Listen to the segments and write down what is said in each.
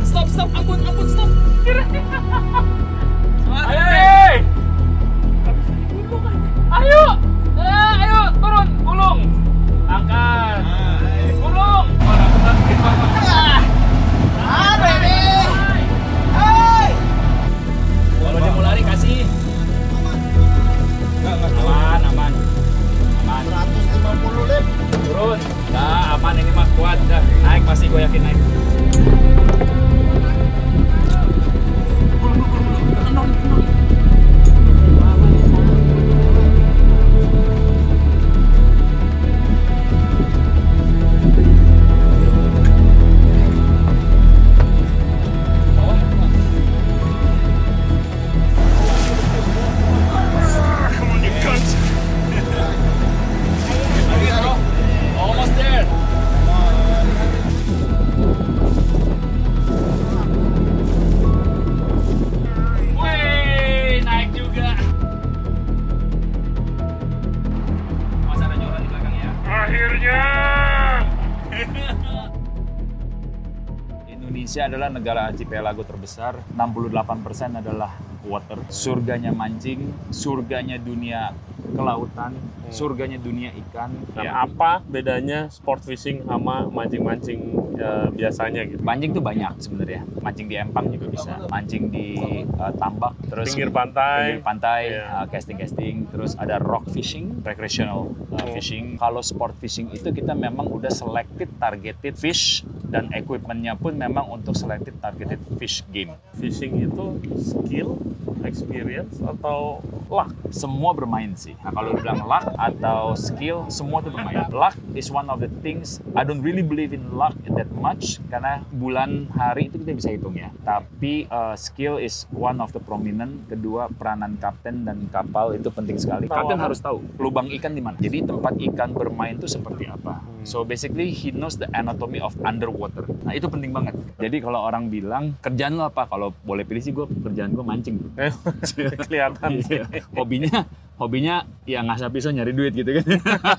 Stop, ampun, stop. Ayo, ayo, turun, gulung, angkat, gulung. Kalau dia mau lari kasih. Aman. 150 lip. Turun. Dah, aman ini mah kuat. Dah, naik pasti gue yakin naik. Almost there. Wih, naik juga. Mas ada Jora di belakang ya. Akhirnya. Indonesia adalah negara archipelago terbesar. 68% adalah water. Surganya mancing, surganya dunia kelautan, surganya dunia ikan. Dan apa bedanya sport fishing sama mancing-mancing biasanya gitu? Mancing tuh banyak sebenarnya. Mancing di empang juga bisa. Mancing di tambak, terus Pinggir pantai. Iya. Casting, terus ada rock fishing, recreational fishing. Kalau sport fishing itu kita memang udah selected targeted fish dan equipmentnya pun memang untuk selected targeted fish game. Fishing itu skill, experience, atau luck? Semua bermain sih. Nah kalau dibilang luck atau skill, semua tuh bermain. Luck is one of the things. I don't really believe in luck that much karena bulan hari itu kita bisa hitung ya. Tapi skill is one of the prominent. Kedua, peranan kapten dan kapal itu penting sekali. Kapten harus tahu lubang ikan di mana. Jadi tempat ikan bermain itu seperti apa. So basically he knows the anatomy of underwater. Nah itu penting banget. Jadi kalau orang bilang kerjaan lo apa? Kalau boleh pilih sih kerjaan gue mancing. Kelihatan sih. Hobinya ya ngasah pisau nyari duit gitu kan.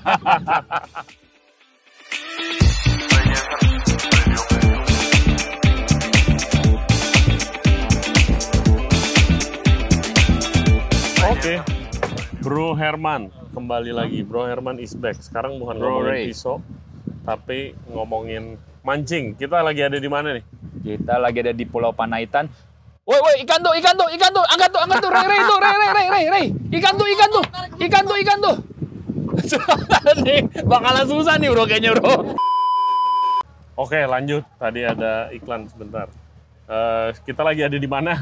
Oke. Bro Herman kembali lagi. Bro Herman is back. Sekarang bukan Bro ngomongin Ray. pisau, tapi ngomongin mancing. Kita lagi ada di mana nih? Kita lagi ada di Pulau Panaitan. Woi, ikan tuh, angkat tuh, Ray. Ikan tuh. Nih, bakalan susah nih bro kayaknya bro. Oke, lanjut. Tadi ada iklan sebentar. Kita lagi ada di mana?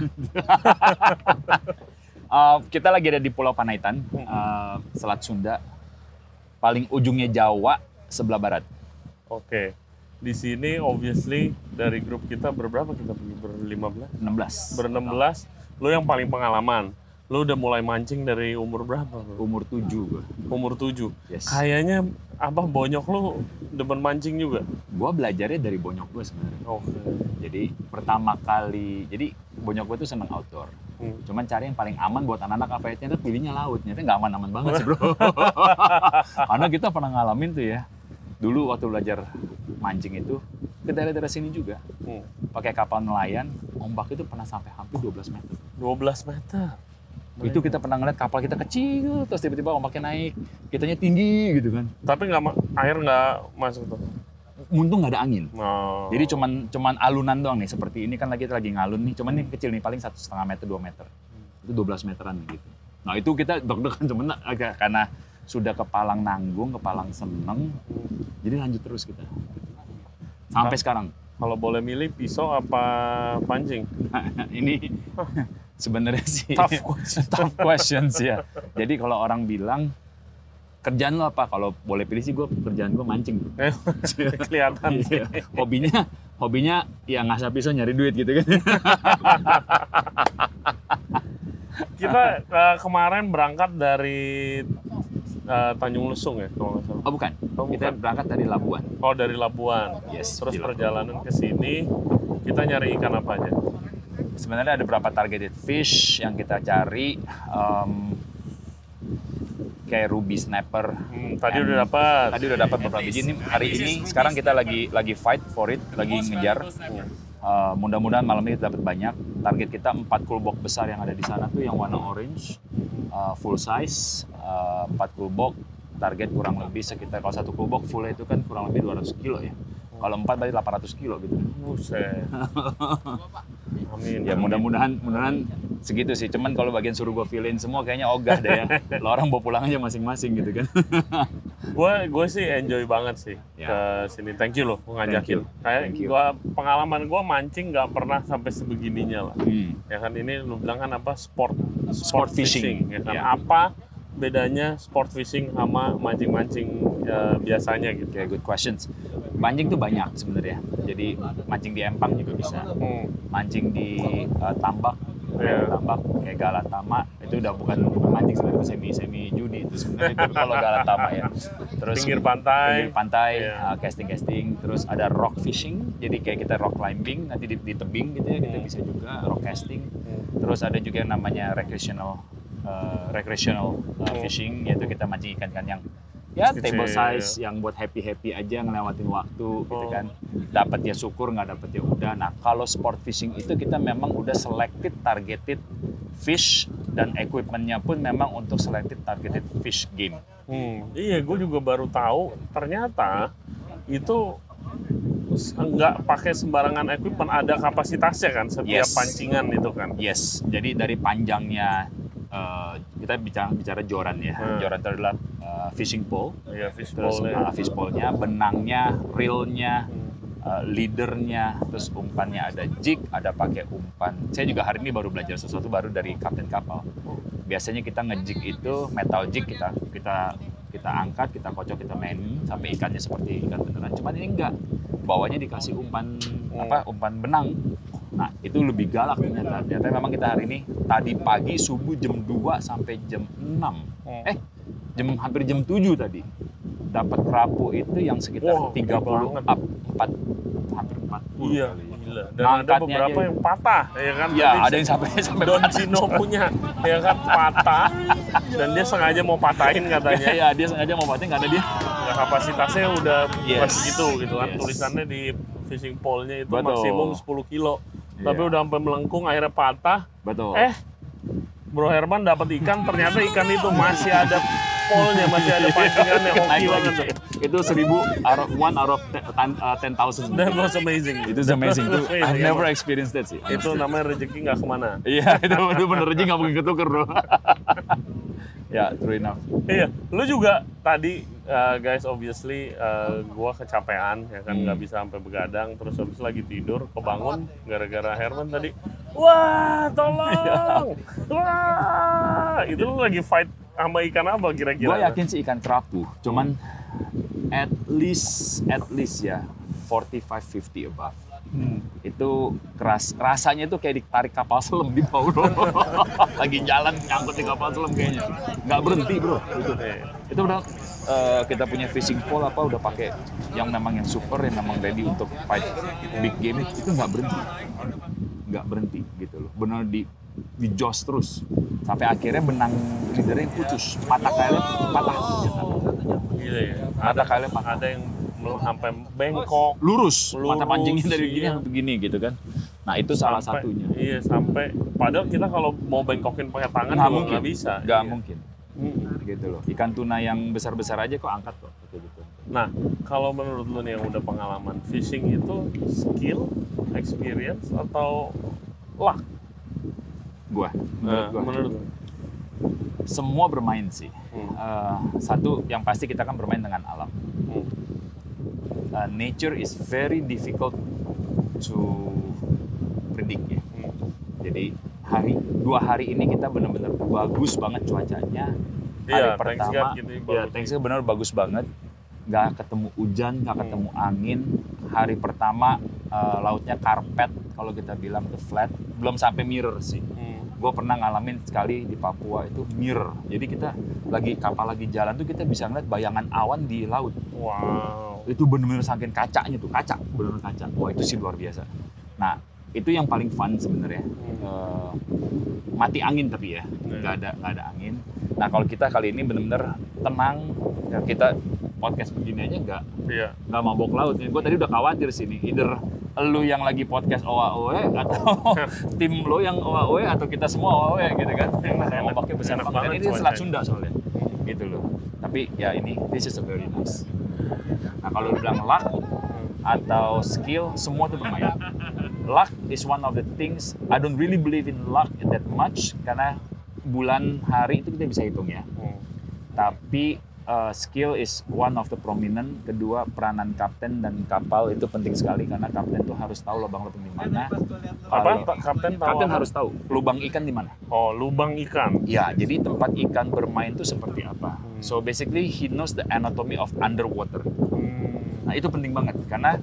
Kita lagi ada di Pulau Panaitan, Selat Sunda, paling ujungnya Jawa, sebelah barat. Oke. Di sini obviously dari grup kita berberapa kita pergi? Ber-15? 16. Ber-16. Lu yang paling pengalaman. Lu udah mulai mancing dari umur berapa? Bro? Umur 7 gua. Umur 7. Yes. Kayaknya apa bonyok lu demen mancing juga? Gua belajarnya dari bonyok gua sebenarnya. Oke. Jadi pertama kali, jadi bonyok gua tuh seneng outdoor. Cuman cari yang paling aman buat anak-anak apa ya? Ternyata pilihnya laut. Ternyata nggak aman-aman banget sih bro. Karena kita pernah ngalamin tuh ya. Dulu waktu belajar mancing itu ke daerah-daerah sini juga. Pakai kapal nelayan, ombak itu pernah sampai hampir 12 meter. 12 meter. Itu kita pernah ngeliat kapal kita kecil, terus tiba-tiba ombaknya naik, kitanya tinggi gitu kan. Tapi air nggak masuk tuh? Untung nggak ada angin. Oh. Jadi cuman alunan doang nih, seperti ini kan kita lagi ngalun nih, cuman ini kecil nih, paling 1,5 meter, 2 meter. Itu 12 meteran gitu. Nah itu kita deg-degan cuman agak karena sudah kepalang nanggung, kepalang seneng, jadi lanjut terus kita. Sampai sekarang. Kalau boleh milih pisau apa pancing? Ini sebenarnya sih Tough questions ya. Jadi kalau orang bilang kerjaan lo apa? Kalau boleh pilih sih kerjaan gue mancing. Kelihatan sih. Hobinya ya ngasah pisau nyari duit gitu kan. Kita kemarin berangkat dari Tanjung Lesung ya kalau nggak salah. Oh bukan. Kita berangkat dari Labuan. Oh dari Labuan. Yes. Terus perjalanan ke sini kita nyari ikan apa aja? Sebenarnya ada beberapa targeted fish yang kita cari. Kayak ruby snapper. Tadi udah dapat. Beberapa biji. Ini hari ini sekarang kita lagi fight for it, lagi ngejar. Mudah-mudahan malam ini dapat banyak. Target kita 4 cool box besar yang ada di sana tuh yang warna orange, full size, 4 cool box. Target kurang lebih sekitar, kalau 1 cool box full itu kan kurang lebih 200 kilo ya. Kalau 4 berarti 800 kilo gitu. Buset. Amin. Ya mudah-mudahan segitu sih. Cuman kalau bagian suruh gue fill-in semua kayaknya ogah deh ya. Lo orang bawa pulang aja masing-masing gitu kan. Gue sih enjoy banget sih ke sini. Thank you loh ngajakin. Kayak pengalaman gue mancing nggak pernah sampai sebegininya lah. Ya kan ini lu bilang kan apa sport fishing. Ya kan apa bedanya sport fishing sama mancing-mancing biasanya gitu? Kayak good questions. Mancing tuh banyak sebenarnya. Jadi mancing di empang juga bisa. Mancing di tambak, tambak kayak Galatama itu udah bukan mancing sebenarnya, semi judi itu sebenarnya itu kalau Galatama ya. Terus pinggir pantai, casting. Terus ada rock fishing. Jadi kayak kita rock climbing nanti di tebing gitu ya, kita bisa juga rock casting. Terus ada juga yang namanya recreational fishing, yaitu kita mancing ikan yang ya table size yang buat happy aja ngelewatin waktu gitu kan. Dapat ya syukur, nggak dapat ya udah. Nah kalau sport fishing itu kita memang udah selected targeted fish dan equipmentnya pun memang untuk selected targeted fish game. Iya, gue juga baru tahu ternyata itu nggak pakai sembarangan equipment, ada kapasitasnya kan setiap pancingan itu kan. Yes, jadi dari panjangnya kita bicara joran ya. Joran itu adalah fishing pole. Iya, fish pole-nya, benangnya, reelnya, leadernya, terus umpannya ada jig, ada pakai umpan. Saya juga hari ini baru belajar sesuatu baru dari kapten kapal. Biasanya kita ngejig itu metal jig, kita angkat, kita kocok, kita mainin sampai ikannya seperti ikan beneran. Cuman ini enggak. Bawahnya dikasih umpan benang. Nah, itu lebih galak ternyata. Ternyata memang kita hari ini tadi pagi subuh jam 2 sampai jam 6. Hampir jam 7 tadi. Dapat kerapu itu yang sekitar 30 up, hampir 40 iya, kali. Gila. Dan ada beberapa yang patah, ya kan? Iya, ada yang sampai Don Cino punya, ya kan, patah. Dan dia sengaja mau patahin katanya. Iya, dia sengaja mau patahin karena dia kapasitasnya udah segitu gitu kan. Tulisannya di fishing pole-nya itu maksimum 10 kilo. Tapi udah sampai melengkung, akhirnya patah. Betul. Bro Herman dapat ikan, ternyata ikan itu masih ada pole-nya, masih ada pancingannya, hoki banget. Itu 1,000 out of 10,000. That was amazing. Itu amazing. I've never experienced that sih. Itu namanya rezeki nggak kemana. Iya, itu bener rezeki nggak mungkin ketuker bro. Ya, true enough. Iya, lu juga tadi guys obviously gua kecapean ya kan, nggak bisa sampai begadang, terus habis lagi tidur kebangun gara-gara Herman tadi. Wah, tolong. Wah, itu lu lagi fight sama ikan apa kira-kira? Gua yakin sih ikan kerapu, cuman at least ya 45-50 above. Itu rasanya itu kayak ditarik kapal selam di bawah. Lagi jalan nyangkut di kapal selam kayaknya. Nggak berhenti bro. Itu udah kita punya fishing pole udah pakai yang memang yang super, yang memang ready untuk fight big game, itu nggak berhenti gitu loh. Benar di jos terus sampai akhirnya benang leadernya putus, patah. Gila ya. Patah. Ada yang sampai bengkok, lurus mata pancingnya dari gini sampai begini gitu kan. Nah itu salah satunya. Iya, sampai padahal kita kalau mau bengkokin pakai tangan juga nggak bisa. Nggak mungkin. Gitu loh. Ikan tuna yang besar-besar aja kok angkat kok. Gitu. Nah, kalau menurut lu nih yang udah pengalaman, fishing itu skill, experience atau luck? Menurut gua. Semua bermain sih. Satu yang pasti kita kan bermain dengan alam. Nature is very difficult to predict ya. Jadi 2 hari ini kita benar-benar bagus banget cuacanya. Hari pertama, Thanksgiving benar bagus banget. Nggak ketemu hujan, nggak ketemu angin. Hari pertama lautnya karpet, kalau kita bilang itu flat. Belum sampai mirror sih. Gue pernah ngalamin sekali di Papua itu mirror. Jadi kita kapal lagi jalan tuh kita bisa ngeliat bayangan awan di laut. Wow. Itu benar-benar saking kacanya tuh, benar-benar kaca. Wah itu sih luar biasa. Nah itu yang paling fun sebenarnya. Mati angin tapi ya, nggak ada angin. Nah kalau kita kali ini benar-benar tenang. Ya, kita podcast begini aja nggak mabok laut. Gue tadi udah khawatir sini, either lu yang lagi podcast OAOE atau tim lu yang OAOE atau kita semua OAOE gitu kan. Ombaknya besar banget. Ini Selat Sunda soalnya. Gitu loh. Tapi ya ini, this is a very nice. Nah kalau lu bilang luck atau skill, semua tuh bermain. Luck is one of the things, I don't really believe in luck that much, karena bulan hari itu kita bisa hitung ya. Tapi skill is one of the prominent. Kedua, peranan kapten dan kapal itu penting sekali, karena kapten tuh harus tahu lubang-lubang di mana. Kapten harus tahu lubang ikan di mana. Oh, lubang ikan. Ya, jadi tempat ikan bermain itu seperti apa. So basically he knows the anatomy of underwater. Nah, itu penting banget karena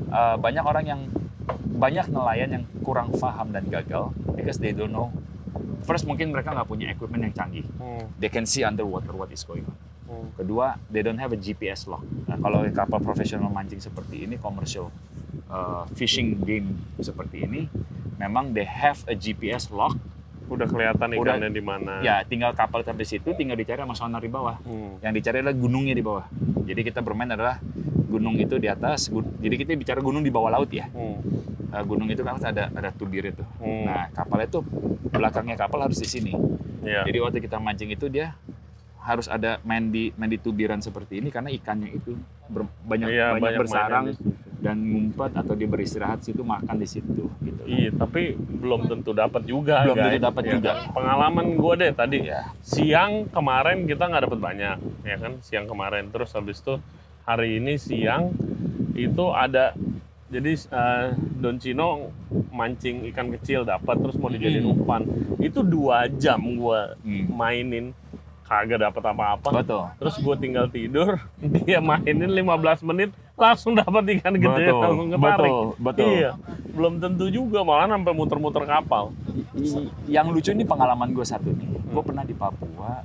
banyak nelayan yang kurang paham dan gagal because they don't know. First, mungkin mereka nggak punya equipment yang canggih. They can see underwater what is going on. Kedua, they don't have a GPS lock. Nah, kalau kapal profesional mancing seperti ini, commercial fishing game seperti ini, memang they have a GPS lock. Udah kelihatan ikannya di mana. Ya, tinggal kapal sampai situ, tinggal dicari sama sonar di bawah. Yang dicari adalah gunungnya di bawah. Jadi kita bermain adalah gunung itu di atas. Jadi kita bicara gunung di bawah laut ya. Gunung itu kan ada tubir itu. Nah, kapal itu belakangnya kapal harus di sini. Yeah. Jadi waktu kita mancing itu dia harus ada main di tubiran seperti ini karena ikannya itu banyak bersarang dan ngumpet atau dia beristirahat situ, makan di situ gitu. Iya, tapi belum tentu dapat juga. Belum tentu dapat juga. Pengalaman gue deh tadi siang kemarin kita nggak dapat banyak, ya kan, siang kemarin. Terus habis itu hari ini siang itu ada, jadi Don Cino mancing ikan kecil dapat, terus mau dijadiin umpan. Itu 2 jam gue mainin, kagak dapat apa-apa. Betul. Terus gue tinggal tidur, dia mainin 15 menit langsung dapat ikan gede, langsung ketarik. Betul. Iya, belum tentu juga, malah sampai muter-muter kapal. Yang lucu ini pengalaman gue satu nih. Gue pernah di Papua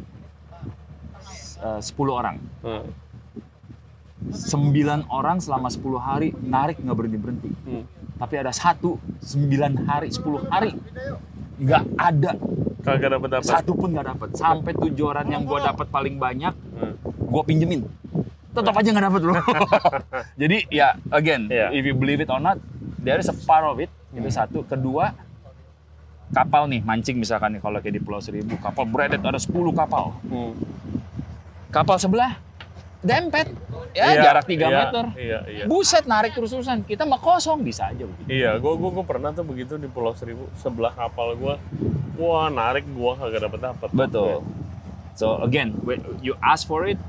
10 orang. 9 orang selama 10 hari narik nggak berhenti. Tapi ada 9 hari, 10 hari nggak ada. Kagak dapat. Satu pun nggak dapat. Sampai tujuan yang gue dapat paling banyak, gue pinjemin. Tetap aja nggak dapat loh. Jadi ya, again, if you believe it or not, there is a part of it. Itu satu. Kedua, kapal nih mancing misalkan nih, kalau kayak di Pulau Seribu, kapal bredet ada 10 kapal. Kapal sebelah dempet, jarak 3 meter. Iya. Buset, narik terus-terusan. Kita mah kosong, bisa aja begitu. Iya, gue pernah tuh begitu di Pulau Seribu, sebelah kapal gue. Wah, narik gue kagak dapat. Betul. So again, when you ask for it,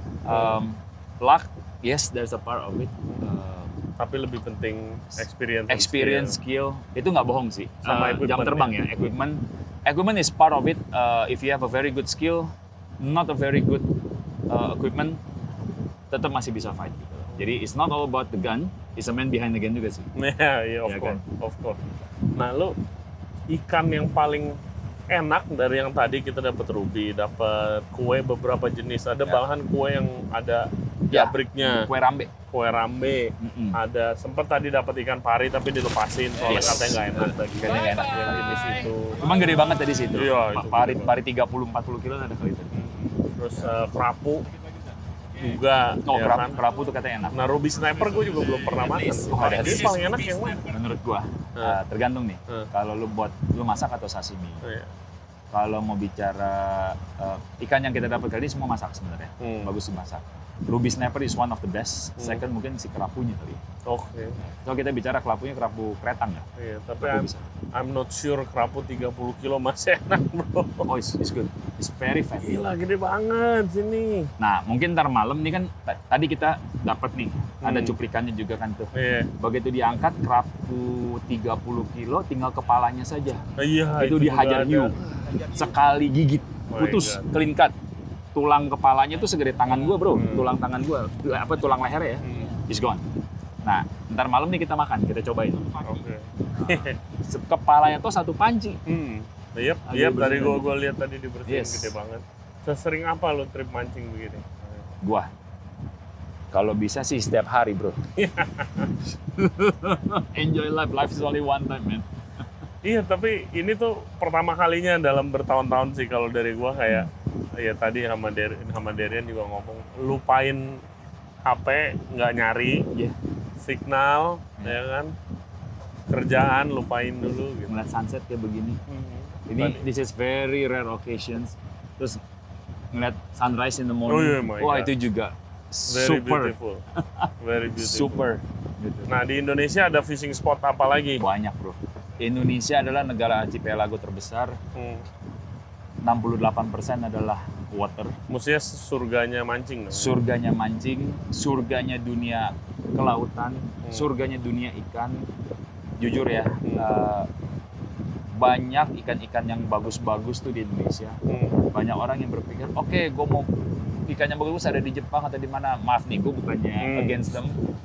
luck, yes, there's a part of it. Tapi lebih penting experience, skill. Itu nggak bohong sih. Sama jam terbang ya, equipment is part of it. If you have a very good skill, not a very good equipment, tetap masih bisa fight. Gitu. Jadi it's not all about the gun, it's a man behind the gun juga sih. Iya, of course. Nah, lu ikan yang paling enak dari yang tadi kita dapat ruby, dapat kue beberapa jenis, ada bahan kue yang ada jabriknya, kue rambe, ada sempat tadi dapat ikan pari tapi dilepasin soalnya katanya nggak enak, dagingnya nggak enak yang jenis itu. Cuman gede banget tadi situ. Iya, pari 30-40 kilo ada kali tadi. Terus kerapu juga. Kerapu tuh katanya enak. Nah, ruby sniper gue juga belum pernah makan. Jadi paling enak yang mana? Menurut gua tergantung nih. Kalau lu masak atau sashimi. Kalau mau bicara ikan yang kita dapat kali ini semua masak sebenarnya. Bagus dimasak. Ruby sniper is one of the best. Second mungkin si kerapunya kali. Oke. Kalau kita bicara kerapunya, kerapu kretang ya. Iya, tapi I'm not sure kerapu 30 kilo masih enak, bro. Oh, it's good. It's very fatty. Gila, gede banget sini. Nah, mungkin ntar malam nih kan tadi kita dapat nih, ada cuplikannya juga kan tuh. Iya. Begitu diangkat kerapu 30 kilo, tinggal kepalanya saja. Iya, itu dihajar hiu. Sekali gigit, putus, clean cut. Tulang kepalanya tuh segede tangan gua, bro. Tulang tangan gua, tulang leher ya. It's gone. Nah, ntar malam nih kita makan, kita cobain. Oke. Kepalanya tuh 1 panci. Iya, dari gua lihat tadi dibersihin gede banget. Sesering apa lo trip mancing begini? Gua kalau bisa sih setiap hari, bro. Enjoy life. Life is only one time, man. Iya, tapi ini tuh pertama kalinya dalam bertahun-tahun sih kalau dari gua kayak ya tadi sama Derian juga ngomong lupain HP, nggak nyari, signal, ya kan, kerjaan lupain dulu. Gitu. Ngeliat sunset kayak begini. Ini this is very rare occasions. Terus ngeliat sunrise in the morning. Oh, yeah, my wah God. itu juga Very super, beautiful. Very beautiful. super. Gitu. Nah di Indonesia ada fishing spot apa lagi? Banyak bro. Indonesia adalah negara archipelago terbesar. 68% adalah water. Maksudnya surganya mancing dong? Surganya mancing, surganya dunia kelautan, surganya dunia ikan. Jujur ya, banyak ikan-ikan yang bagus-bagus tuh di Indonesia. Banyak orang yang berpikir, oke, gue mau ikan yang bagus ada di Jepang atau di mana. Maaf nih, gue bukannya against them.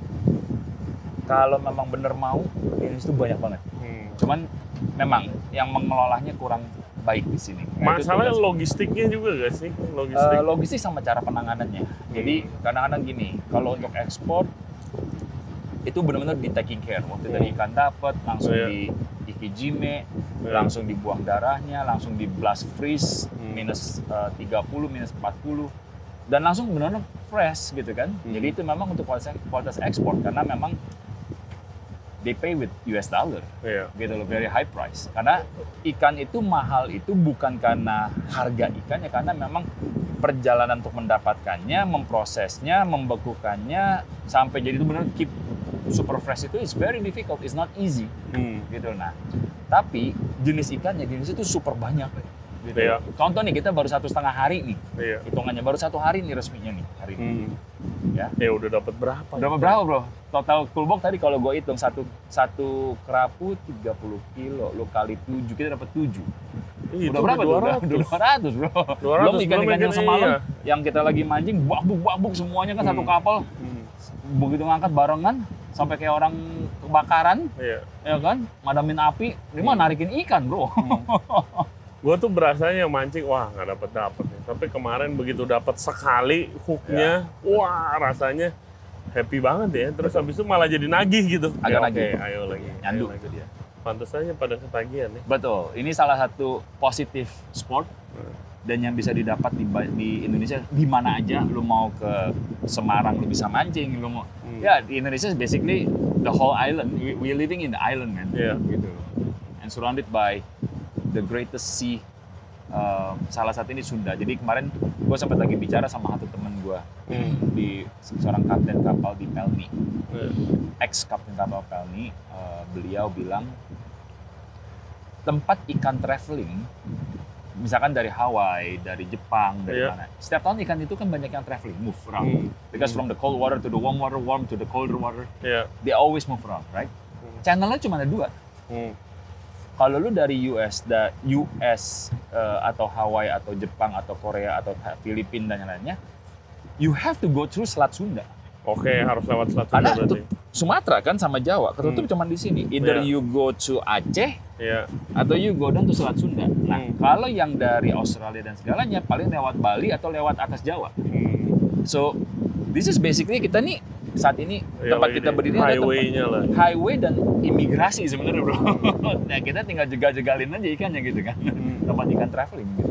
Kalau memang bener mau, Indonesia tuh banyak banget. Cuman memang yang mengelolanya kurang baik di sini. Nah, masalahnya logistiknya juga gak sih? Logistik sama cara penanganannya. Jadi kadang-kadang gini, kalau untuk ekspor itu benar-benar di taking care. Waktu dari ikan dapat langsung di ikijime, langsung dibuang darahnya, langsung di blast freeze minus 30, minus 40 dan langsung benar-benar fresh gitu kan. Jadi itu memang untuk kualitas ekspor karena memang they pay with US dollar, gitu loh, very high price. Karena ikan itu mahal itu bukan karena harga ikannya, karena memang perjalanan untuk mendapatkannya, memprosesnya, membekukannya sampai jadi itu benar keep super fresh itu is very difficult, it's not easy, gitu. Nah, tapi jenis ikannya di Indonesia itu super banyak, gitu. Contoh nih kita baru 1,5 hari nih, hitungannya baru 1 hari nih resminya nih hari ini. Ya udah dapat berapa? Berapa bro? Total full box tadi kalau gue hitung satu kerapu 30 kilo, lo kali 7 kita dapat 7. Udah berapa 200 bro. 200, belum ikan-ikan yang semalam yang kita lagi mancing babuk semuanya kan satu kapal. Begitu ngangkat barengan sampai kayak orang kebakaran, ya kan, madamin api, ini mah narikin ikan bro. Gue tuh berasanya mancing, wah nggak dapet nih. Tapi kemarin begitu dapat sekali hooknya, wah rasanya happy banget ya. Terus habis itu malah jadi nagih gitu. Agak nagih. Oke, ayo lagi. Nyandu lagi. Itu dia. Pantes aja pada ketagihan nih. Betul. Ini salah satu positif sport dan yang bisa didapat di Indonesia di mana aja. Lu mau ke Semarang lu bisa mancing, lu mau ya di Indonesia basically the whole island. We living in the island man. Gitu. And surrounded by the greatest sea, salah satu ini Sunda. Jadi kemarin gue sempat lagi bicara sama satu temen gue di seorang kapten kapal di Pelni, ex kapten kapal Pelni. Beliau bilang tempat ikan traveling, misalkan dari Hawaii, dari Jepang, dari mana. Setiap tahun ikan itu kan banyak yang traveling, move around. Because from the cold water to the warm water, warm to the colder water, they always move around, right? Channelnya cuma ada 2. Kalau lu dari US atau Hawaii atau Jepang atau Korea atau Filipina dan yang lainnya, you have to go through Selat Sunda. Oke, harus lewat Selat Sunda berarti. Sumatera kan sama Jawa, ketutup cuma di sini. Either you go to Aceh atau you go down to Selat Sunda. Nah, kalau yang dari Australia dan segalanya paling lewat Bali atau lewat atas Jawa. So, this is basically kita nih saat ini tempat kita berdiri ada highway dan imigrasi sebenarnya bro. Nah kita tinggal jegal-jegalin aja ikannya gitu kan. Tempat ikan traveling gitu.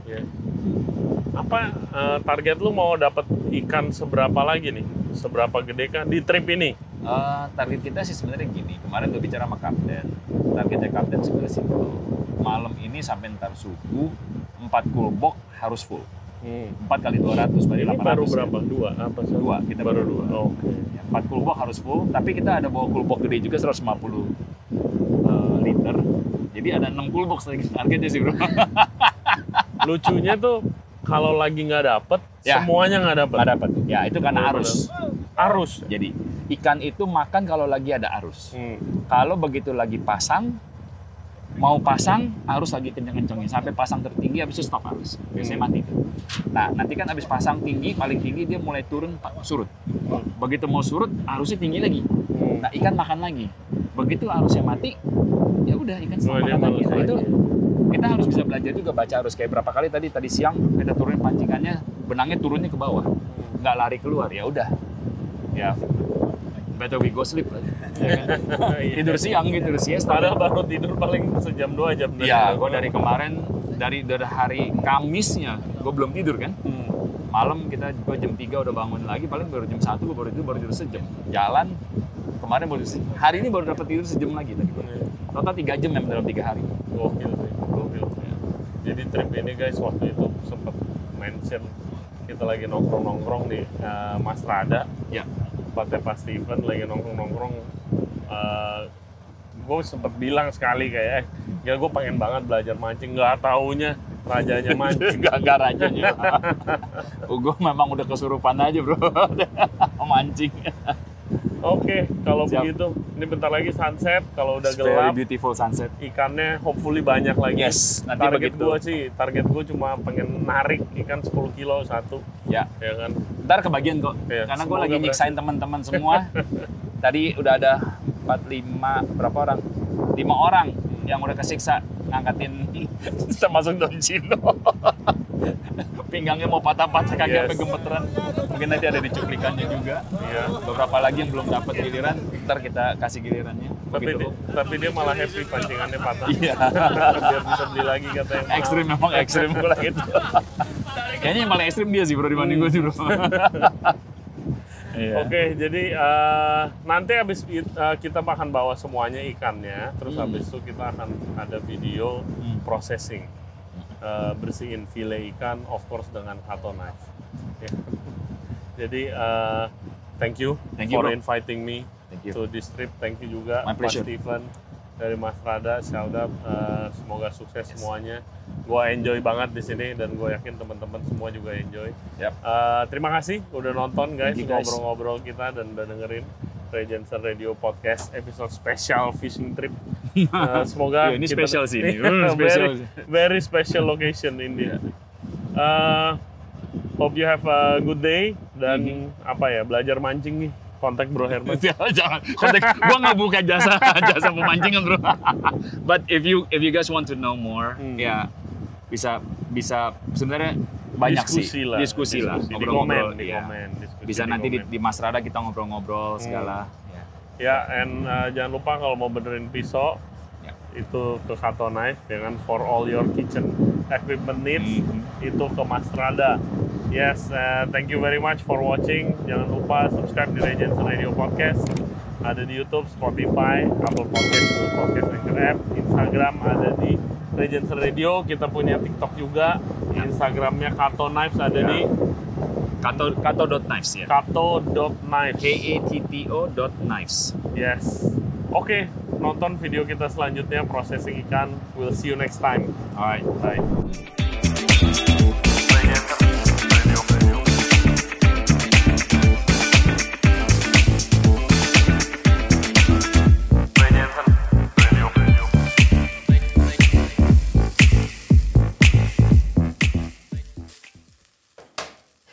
Apa target lu mau dapat ikan seberapa lagi nih? Seberapa gede kan di trip ini? Target kita sih sebenarnya gini. Kemarin gue bicara sama kapten. Targetnya kapten sebenarnya simpel. Malam ini sampai ntar subuh 4 kulbok harus full. 4 kali 200 berarti 800. Ini baru berapa? 2? Apa sih? 2, kita baru 2. Oke. 4 kulbok harus full, tapi kita ada bawa kulbok gede juga 150 liter. Jadi ada 6 kulbok lagi targetnya sih bro. Lucunya tuh kalau lagi nggak dapet, semuanya nggak dapet. Nggak dapet. Ya itu karena arus. Arus. Jadi ikan itu makan kalau lagi ada arus. Kalau begitu lagi pasang, mau pasang arus lagi kenceng-kencengnya sampai pasang tertinggi habis itu stop arus. Biasanya mati tuh. Nah, nanti kan habis pasang tinggi, paling tinggi dia mulai turun surut. Begitu mau surut, arusnya tinggi lagi. Nah, ikan makan lagi. Begitu arusnya mati, ya udah ikan stop makan lagi. Nah, itu kita harus bisa belajar juga baca arus. Kayak berapa kali tadi siang kita turunin pancingannya, benangnya turunnya ke bawah. Nggak lari keluar, ya udah. Ya better we go sleep lah. Tidur siang gitu, siesta. Padahal baru tidur paling sejam 2 jam. Iya, gue dari kemarin, dari hari Kamisnya, gue belum tidur kan. Malam gue jam 3 udah bangun lagi, paling baru jam 1 gue baru tidur sejam. Jalan ke kemarin hari ini baru dapat tidur sejam lagi tadi. Total 3 jam dalam 3 hari. Gokil sih, gokil. Jadi trip ini guys, waktu itu sempat mention kita lagi nongkrong di Mas Rada. Ya. Tempatnya Pak Steven lagi nongkrong. Gue sempet bilang sekali kayak, ya gue pengen banget belajar mancing, nggak taunya rajanya mancing. Nggak rajanya. Gue memang udah kesurupan aja bro, mancing. Oke, kalau begitu, ini bentar lagi sunset. Kalau udah Very gelap, beautiful sunset. Ikannya hopefully banyak lagi. Yes, nanti target gue cuma pengen narik ikan 10 kilo satu. Ya kan. Ntar kebagian kok, ya, karena gue lagi nyiksain teman-teman semua. Tadi udah ada 5 orang yang udah kesiksa ngangkatin termasuk Don Cino. Pinggangnya mau patah-patah, kaki sampai gemeteran. Mungkin nanti ada di cuplikannya juga. Iya. Beberapa lagi yang belum dapat giliran, ntar kita kasih gilirannya. Tapi dia malah happy pancingannya patah. Iya. Biar bisa beli lagi katanya. Ekstrim memang ekstrim gitu. Kayaknya yang paling ekstrim dia sih bro dibanding gue sih bro. Iya. Oke, jadi nanti habis kita akan bawa semuanya ikannya, terus habis itu kita akan ada video processing, bersihin file ikan, of course dengan Kato knife. Ya. Jadi thank you for inviting me to this trip. Thank you juga Pak Steven dari Mas Rada, Shout-out, semoga sukses semuanya. Gua enjoy banget di sini dan gue yakin teman-teman semua juga enjoy. Yep. Terima kasih udah nonton guys, ngobrol-ngobrol kita dan udah dengerin Ray Jensen Radio Podcast episode special fishing trip. Semoga ini spesial sih ini. Very special location ini. Hope you have a good day dan belajar mancing nih. Kontak Bro Herman. Jangan kontak. Gua nggak buka jasa pemancingan bro. But if you guys want to know more, ya bisa sebenarnya banyak diskusi lah. Ngobrol-ngobrol. Di komen. Bisa nanti di Mas Rada kita ngobrol-ngobrol segala. Ya, and jangan lupa kalau mau benerin pisau itu ke Kato Knife, ya kan, for all your kitchen equipment needs itu ke Mas Rada. Yes, thank you very much for watching. Jangan lupa subscribe di Ray Jensen Radio Podcast. Ada di YouTube, Spotify, Apple Podcast, Google Podcast, Anchor App, Instagram ada di Ray Jensen Radio. Kita punya TikTok juga. Instagramnya Kato Knives ada di Kato.knives ya. Kato.knives. KATTO.knives. Yes. Oke, nonton video kita selanjutnya processing ikan. We'll see you next time. Alright. Bye.